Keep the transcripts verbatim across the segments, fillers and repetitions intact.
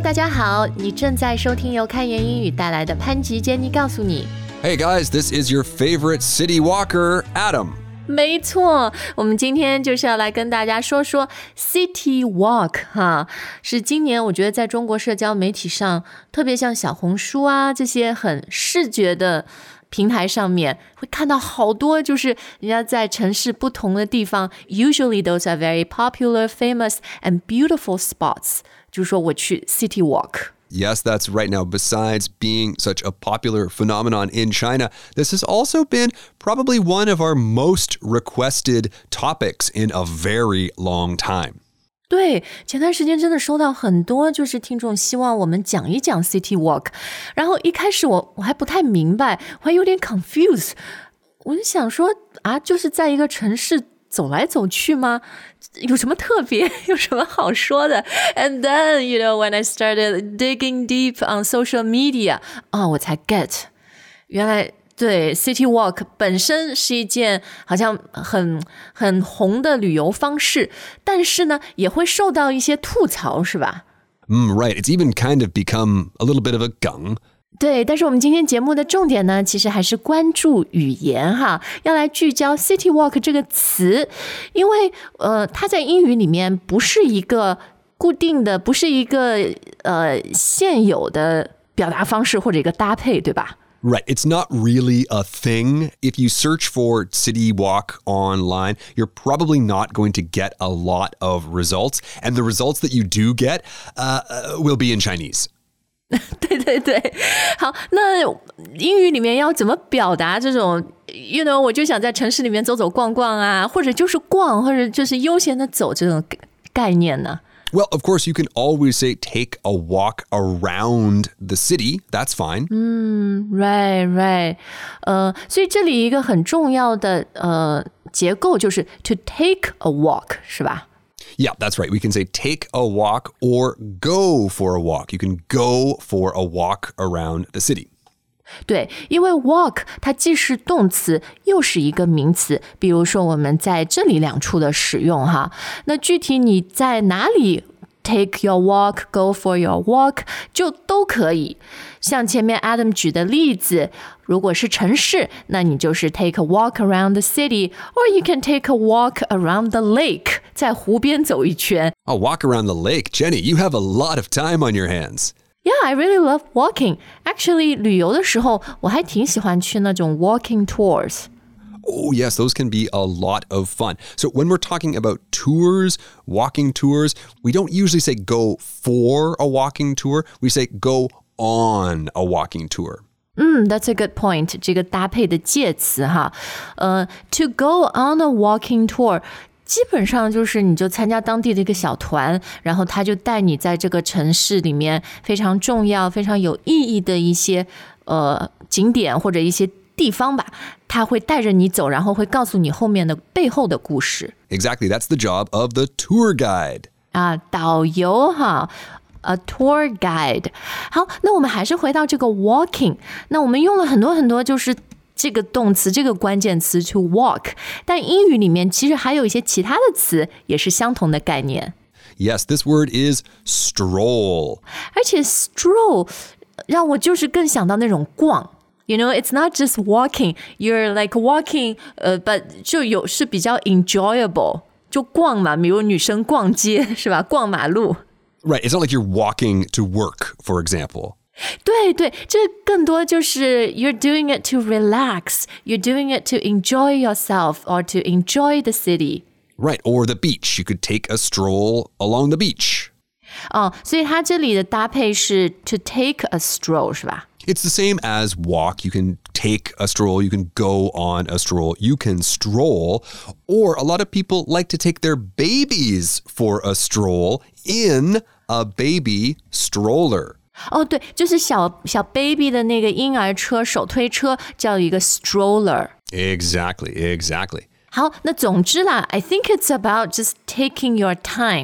大家好，你正在收听由开言英语带来的潘吉杰尼告诉你。 Hey guys, this is your favorite city walker, Adam. 没错，我们今天就是要来跟大家说说 City Walk 哈，是今年我觉得在中国社交媒体上，特别像小红书啊这些很视觉的平台上面，会看到好多就是人家在城市不同的地方 ，usually those are very popular, famous and beautiful spots. 就是说我去 City Walk。Yes, that's right. Now, besides being such a popular phenomenon in China, this has also been probably one of our most requested topics in a very long time. 对，前段时间真的收到很多就是听众希望我们讲一讲 City Walk， 然后一开始我我还不太明白，我还有点 confused， 我就想说啊，就是在一个城市走来走去吗？有什么特别？有什么好说的 ？And then, you know, when I started digging deep on social media, 啊、哦，我才 get， 原来对 City Walk 本身是一件好像很很红的旅游方式，但是呢，也会受到一些吐槽，是吧？ Mm, right. It's even kind of become a little bit of a梗。 对，但是我们今天节目的重点呢，其实还是关注语言哈，要来聚焦 City Walk 这个词，因为呃，它在英语里面不是一个固定的，不是一个呃现有的表达方式或者一个搭配，对吧？ Right. It's not really a thing. If you search for City Walk online, you're probably not going to get a lot of results. And the results that you do get uh, will be in Chinese. 对对对，好，那英语里面要怎么表达这种 you know 我就想在城市里面走走逛逛啊，或者就是逛，或者就是悠闲的走这种概念呢？ Well, of course, you can always say take a walk around the city. That's fine. 嗯 right, right. 呃，所以这里一个很重要的呃结构就是 to take a walk, 是吧 ？Yeah, that's right. We can say take a walk or go for a walk. You can go for a walk around the city. 对，因为 walk 它既是动词又是一个名词，比如说我们在这里两处的使用哈，那具体你在哪里 take your walk, go for your walk 就都可以。像前面 Adam 举的例子，如果是城市，那你就是 take a walk around the city, or you can take a walk around the lake, 在湖边走一圈。 A walk around the lake. Jenny, you have a lot of time on your hands. Yeah, I really love walking. Actually, 旅游的时候，我还挺喜欢去那种 walking tours. Oh, yes, those can be a lot of fun. So when we're talking about tours, walking tours, we don't usually say go for a walking tour. We say go on a walking tour. 嗯 that's a good point. 这个搭配的介词哈，呃 to go on a walking tour 基本上就是你就参加当地的一个小团，然后他就带你在这个城市里面非常重要、非常有意义的一些呃景点或者一些地方吧，他会带着你走，然后会告诉你后面的背后的故事。 Exactly, that's the job of the tour guide. 啊，导游哈。A tour guide. 好，那我们还是回到这个 walking. 那我们用了很多很多就是这个动词这个关键词 to walk. 但英语里面其实还有一些其他的词也是相同的概念。 Yes, this word is stroll. 而且 stroll 让我就是更想到那种逛。You know, it's not just walking. You're like walking, uh, but 就有是比较 enjoyable. 就逛嘛，比如女生逛街是吧？逛马路。 Right, it's not like you're walking to work, for example. 对对，这更多就是 you're doing it to relax, you're doing it to enjoy yourself or to enjoy the city. Right, or the beach. You could take a stroll along the beach. 哦，所以它这里的搭配是 to take a stroll 是吧？ It's the same as walk. You can take a stroll. You can go on a stroll. You can stroll. Or a lot of people like to take their babies for a stroll in a baby stroller. 哦，对，就是小小 baby 的那个婴儿车手推车叫一个 stroller. Exactly, exactly. 好，那总之啦 I think it's about just taking your time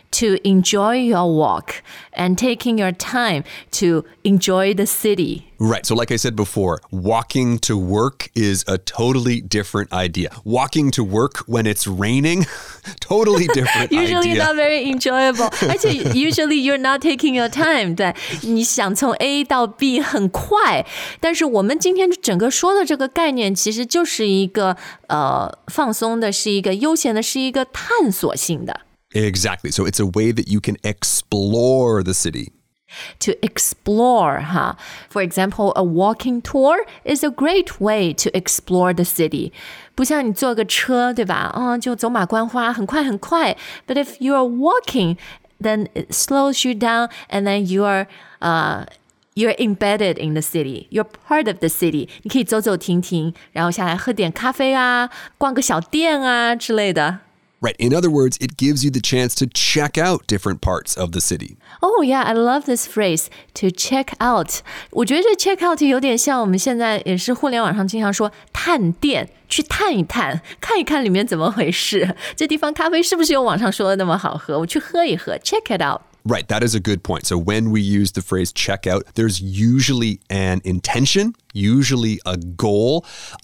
to enjoy your walk and taking your time to enjoy the city. Right. So like I said before, walking to work is a totally different idea. Walking to work when it's raining, totally different Usually idea. not very enjoyable. 而且 usually you're not taking your time. 对，你想从 A 到 B 很快，但是我们今天整个说的这个概念其实就是一个呃放松的，是一个悠闲的，是一个探索性的。 Exactly. So it's a way that you can explore the city. To explore, huh? For example, a walking tour is a great way to explore the city. 不像你坐个车，对吧？啊、哦，就走马观花，很快很快。But if you are walking, then it slows you down, and then you are, uh, you're embedded in the city. You're part of the city. 你可以走走停停，然后下来喝点咖啡啊，逛个小店啊之类的。 Right. In other words, it gives you the chance to check out different parts of the city. Oh, yeah, I love this phrase, to check out. 我觉得这 check out 有点像我们现在也是互联网上经常说探店，去探一探，看一看里面怎么回事。这地方咖啡是不是有网上说的那么好喝？我去喝一喝 check it out. Right, that is a good point. So when we use the phrase check out, there's usually an intention, usually a goal,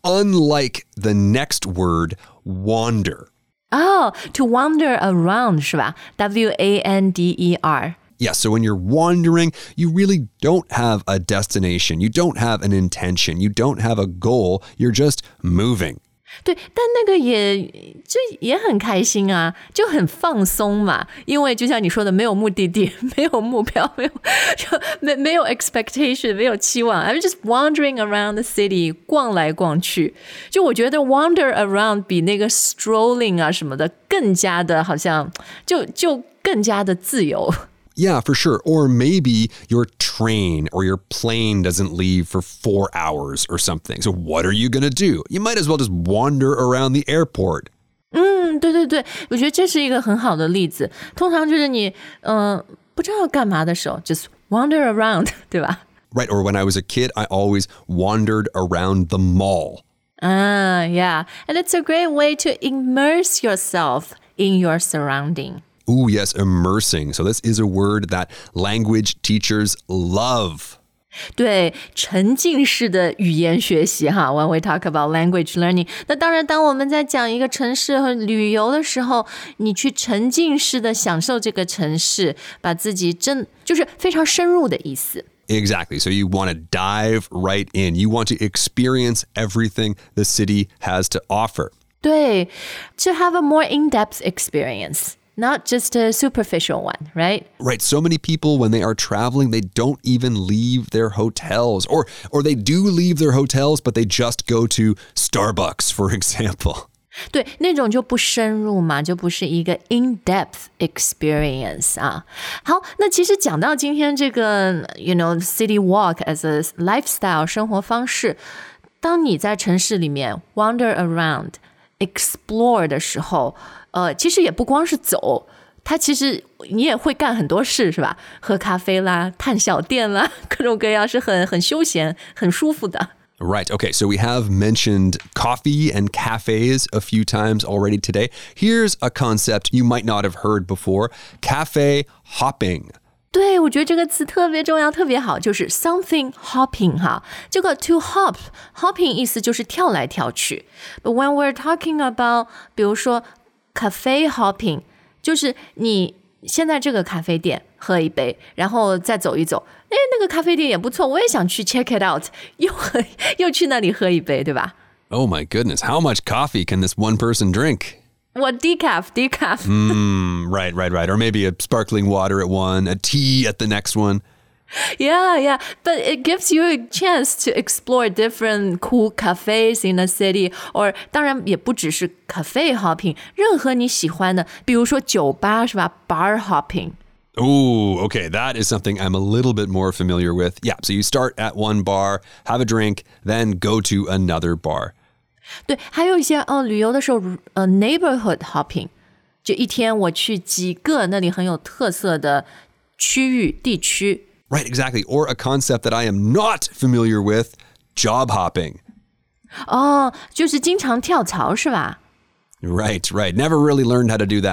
unlike the next word, wander. Oh, to wander around 是吧？ W A N D E R. Yeah, so when you're wandering, you really don't have a destination. You don't have an intention. You don't have a goal. You're just moving. 对，但那个也就也很开心啊，就很放松嘛。因为就像你说的，没有目的地，没有目标，没有就没没有 expectation， 没有期望。I'm just wandering around the city， 逛来逛去。就我觉得 wander around 比那个 strolling 啊什么的更加的，好像就就更加的自由。 Yeah, for sure. Or maybe your train or your plane doesn't leave for four hours or something. So what are you going to do? You might as well just wander around the airport. 嗯，对对对，我觉得这是一个很好的例子。通常就是你嗯、呃、不知道要干嘛的时候 just wander around 对吧？ Right, or when I was a kid, I always wandered around the mall. Ah, yeah. And it's a great way to immerse yourself in your surrounding. Ooh, yes, immersing. So this is a word that language teachers love. 对，沉浸式的语言学习哈 When we talk about language learning， 那当然，当我们在讲一个城市和旅游的时候，你去沉浸式的享受这个城市，把自己真就是非常深入的意思。 Exactly. So you want to dive right in. You want to experience everything the city has to offer. 对 to have a more in-depth experience.Not just a superficial one, right? Right. So many people, when they are traveling, they don't even leave their hotels. Or or they do leave their hotels, but they just go to Starbucks, for example. 对，那种就不深入嘛，就不是一个 in-depth experience 啊。好，那其实讲到今天这个 you know, city walk as a lifestyle 生活方式，当你在城市里面 wander around、explore 的时候，呃，其实也不光是走，它其实你也会干很多事，是吧？喝咖啡啦，探小店啦，各种各样是很很休闲、很舒服的。 Right. Okay. So we have mentioned coffee and cafes a few times already today. Here's a concept you might not have heard before: cafe hopping. 对，我觉得这个词特别重要，特别好，就是 something hopping 哈。这个 to hop hopping 意思就是跳来跳去。But when we're talking about， 比如说cafe hopping 就是你先在这个咖啡店喝一杯，然后再走一走，诶，那个咖啡店也不错，我也想去 check it out， 又喝又去那里喝一杯，对吧？ Oh my goodness, how much coffee can this one person drink? What decaf, decaf. Mm, right, right, right. Or maybe a sparkling water at one, a tea at the next one. Yeah, yeah. But it gives you a chance to explore different cool cafes in the city. Or 当然也不只是 cafe hopping， 任何你喜欢的，比如说酒吧是吧 ？Bar hopping. Ooh, okay. That is something I'm a little bit more familiar with. Yeah, so you start at one bar, have a drink, then go to another bar. 对，还有一些哦，旅游的时候，呃 ，neighborhood hopping， 就一天我去几个那里很有特色的区域地区。 Right, exactly. Or a concept that I am not familiar with, job hopping. 哦，就是经常跳槽是吧？ Right, right. Never really learned how to do that.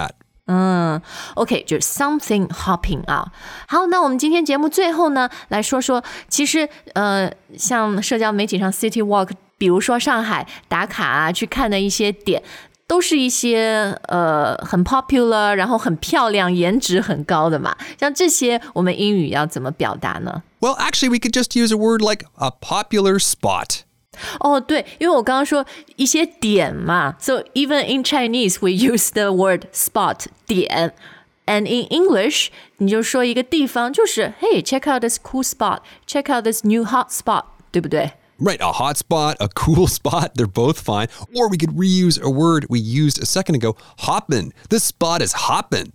嗯 OK 就是 something hopping 啊。好，那我们今天节目最后呢来说说，其实呃像社交媒体上 City Walk， 比如说上海打卡啊去看的一些点，都是一些呃很 popular 然后很漂亮颜值很高的嘛，像这些我们英语要怎么表达呢？ Well, actually, we could just use a word like a popular spot. 哦，对，因为我刚刚说一些点嘛 So even in Chinese we use the word spot 点 And in English 你就说一个地方就是 Hey, check out this cool spot Check out this new hot spot 对不对 Right, a hot spot, a cool spot, they're both fine. Or we could reuse a word we used a second ago, hoppin'. This spot is hoppin'.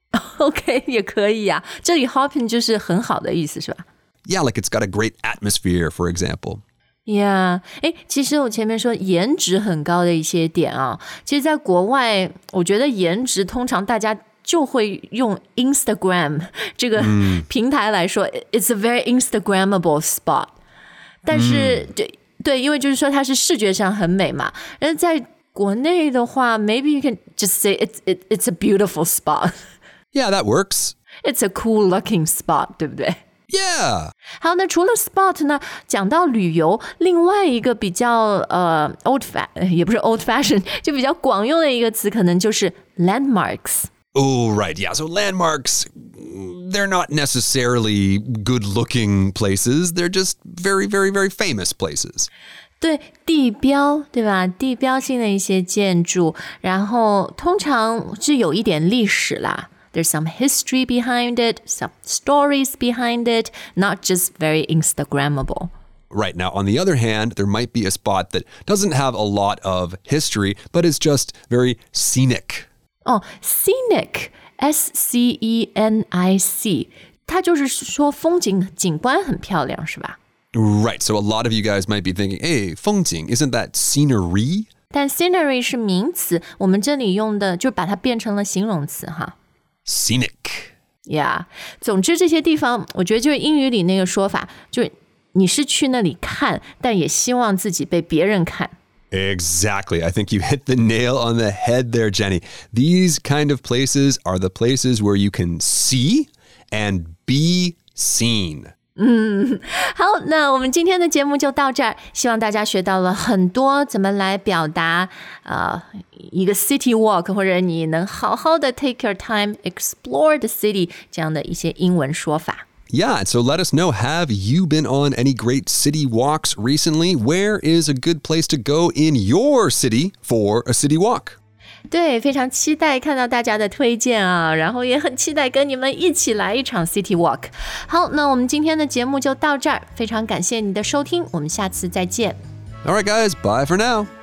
OK 也可以啊，这里 hopping 就是很好的意思是吧 Yeah, like it's got a great atmosphere, for example. Yeah， 哎，其实我前面说颜值很高的一些点啊，其实在国外，我觉得颜值通常大家就会用 Instagram 这个平台来说、嗯、，It's a very Instagrammable spot。但是、嗯、对对，因为就是说它是视觉上很美嘛。但是在国内的话 ，maybe you can just say it's it, it's a beautiful spot. Yeah, that works. It's a cool looking spot， 对不对 ？Yeah. 好，那除了 spot 呢，讲到旅游，另外一个比较呃 old fashion 也不是 old fashion 就比较广用的一个词可能就是 landmarks。 Oh, right. Yeah. So landmarks, they're not necessarily good-looking places. They're just very, very, very famous places. 对，地标，对吧？地标性的一些建筑，然后通常是有一点历史啦。There's some history behind it, some stories behind it, not just very Instagrammable. Right. Now, on the other hand, there might be a spot that doesn't have a lot of history, but is just very scenic. 哦 scenic, S C E N I C, 它就是说风景景观很漂亮，是吧？ Right. So a lot of you guys might be thinking, hey, 风景, isn't that scenery? 但 scenery 是名词，我们这里用的就把它变成了形容词哈。 Scenic. Yeah. 总之这些地方我觉得就是英语里那个说法，就是你是去那里看，但也希望自己被别人看。 Exactly. I think you hit the nail on the head there, Jenny. These kind of places are the places where you can see and be seen. 嗯，好，那我们今天的节目就到这儿，希望大家学到了很多怎么来表达呃一个 city walk， 或者你能好好的 take your time explore the city 这样的一些英文说法。 Yeah, so let us know, have you been on any great city walks recently? Where is a good place to go in your city for a city walk? 对，非常期待看到大家的推荐啊，然后也很期待跟你们一起来一场 City Walk。好，那我们今天的节目就到这儿，非常感谢你的收听，我们下次再见。 All right, guys, bye for now.